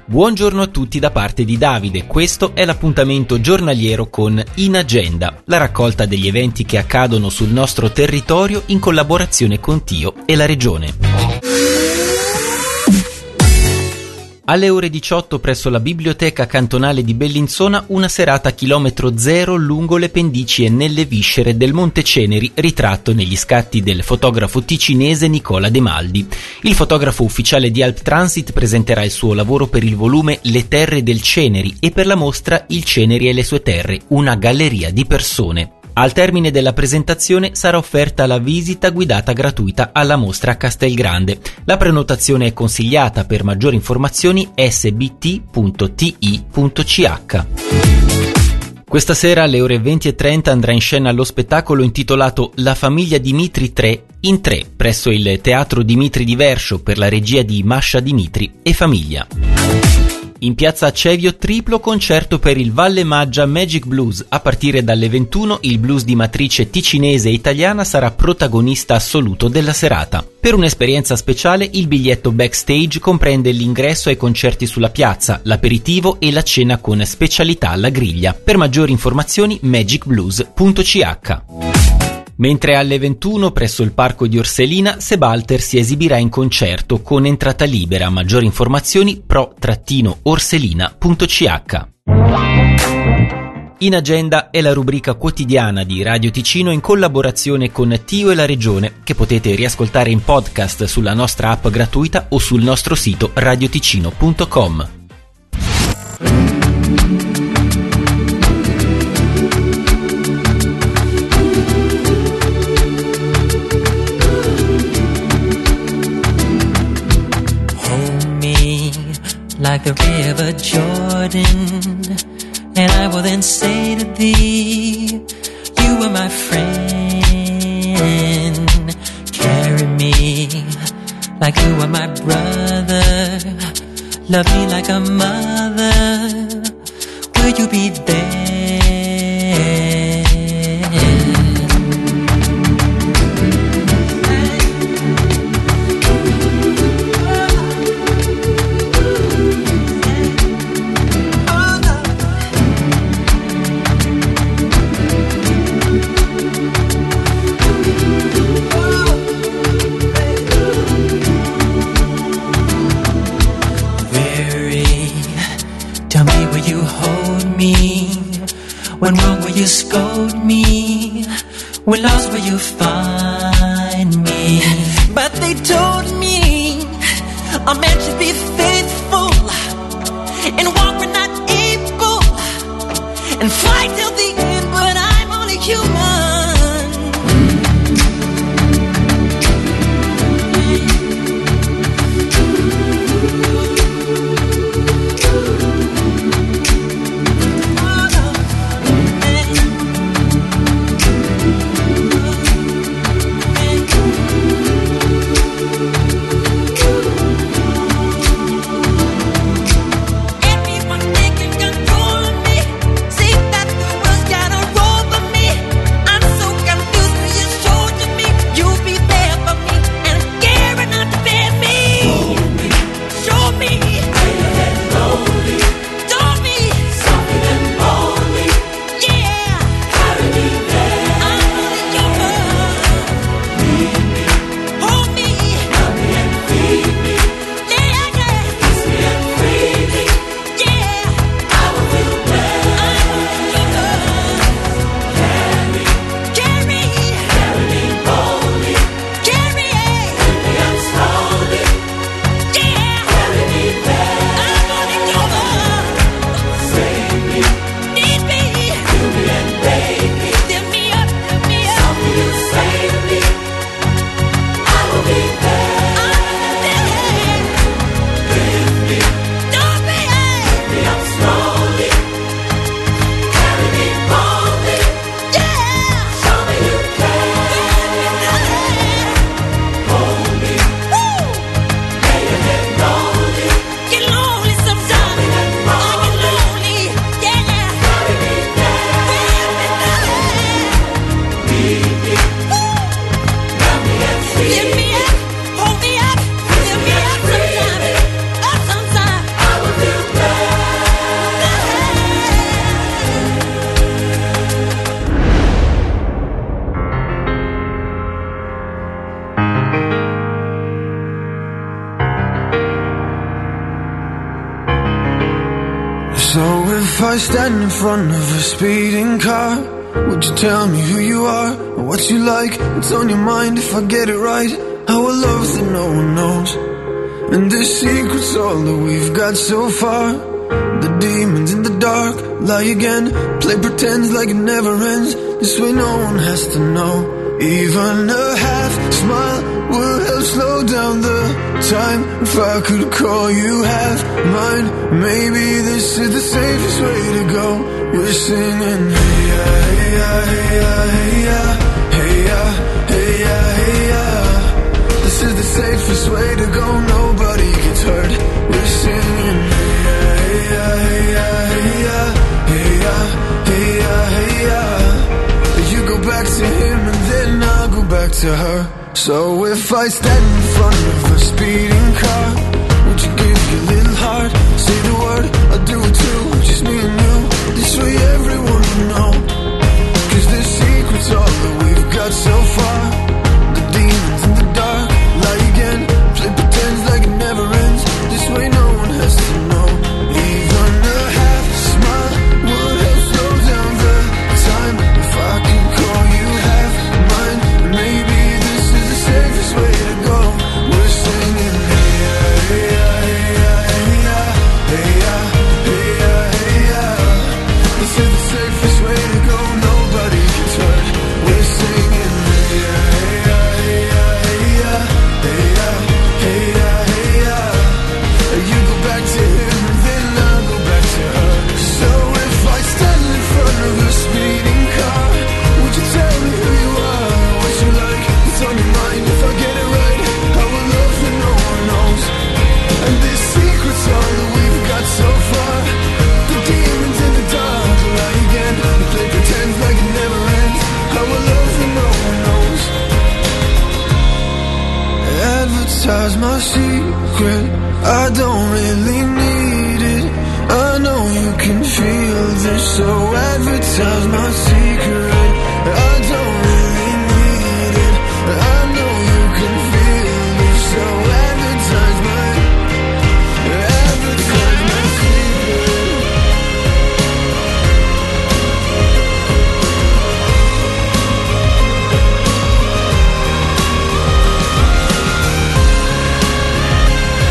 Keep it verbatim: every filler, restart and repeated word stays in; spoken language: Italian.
Buongiorno a tutti da parte di Davide, questo è l'appuntamento giornaliero con In Agenda, la raccolta degli eventi che accadono sul nostro territorio in collaborazione con Tio e la Regione. Alle ore diciotto presso la Biblioteca Cantonale di Bellinzona una serata a chilometro zero lungo le pendici e nelle viscere del Monte Ceneri, ritratto negli scatti del fotografo ticinese Nicola De Maldi. Il fotografo ufficiale di Alp Transit presenterà il suo lavoro per il volume Le terre del Ceneri e per la mostra Il Ceneri e le sue terre, una galleria di persone. Al termine della presentazione sarà offerta la visita guidata gratuita alla mostra a Castelgrande. La prenotazione è consigliata. Per maggiori informazioni s b t punto t i punto c h. Questa sera alle ore venti e trenta andrà in scena lo spettacolo intitolato La famiglia Dimitri tre in tre presso il Teatro Dimitri di Verscio per la regia di Masha Dimitri e famiglia. In piazza Acevio triplo concerto per il Valle Maggia Magic Blues. A partire dalle ventuno il blues di matrice ticinese e italiana sarà protagonista assoluto della serata. Per un'esperienza speciale il biglietto backstage comprende l'ingresso ai concerti sulla piazza, l'aperitivo e la cena con specialità alla griglia. Per maggiori informazioni magic blues punto c h. Mentre alle ventuno presso il parco di Orselina Sebalter si esibirà in concerto con entrata libera. Maggiori informazioni pro orselina punto c h. In Agenda è la rubrica quotidiana di Radio Ticino in collaborazione con Tio e la Regione, che potete riascoltare in podcast sulla nostra app gratuita o sul nostro sito radioticino punto com. Like the river Jordan, and I will then say to thee, you are my friend. Carry me like you are my brother. Love me like a mother. Will you be there? When wrong, will you scold me? When lost, will you find me? But they told me a man should be faithful and walk when not able and fight till the end, but I'm only human. Everyone thinking control me. See that the world's got if I stand in front of a speeding car, would you tell me who you are, or what you like, what's on your mind? If I get it right, our love that no one knows, and this secret's all that we've got so far. The demons in the dark lie again, play pretend like it never ends. This way no one has to know. Even a half smile would help slow down the time. If I could call you half mine, maybe this is the safest way to go. We're singing hey ya, hey ya, hey ya, hey ya, hey ya, hey ya, hey ya. This is the safest way to go, nobody gets hurt. We're singing hey ya, hey ya, hey ya, hey ya, hey ya, hey ya, hey ya. You go back to him and then I'll go back to her. So if I stand in front of a speeding car, would you give your little heart, say the word, I'll do it too, just me and you. This way everyone will know, cause this secret's all that we've got so far. The demons in the dark lie again, play pretend like it never ends. This way no one has to know. Even a half smile would help slow down the time. If I can call you half mine, maybe this is the safest way to go. We're singing hey ya, hey ya, hey ya, hey ya, hey ya, hey ya, hey ya. This is the safest way to go, nobody gets hurt. We're singing hey ya, hey ya, hey ya, hey ya, hey ya, hey ya, hey ya. You go back to him and then I'll go back to her. So if I stand in front of a speeding car, would you tell me who you are, what you like, what's on your mind? If I get it right, I will love that no one knows, and this secret's all that we've got so far. The demons in the dark lie again, they play pretend like it never ends. I will love that no one knows. Advertise my secret, I don't really need it. I know you can feel this, so advertise my secret.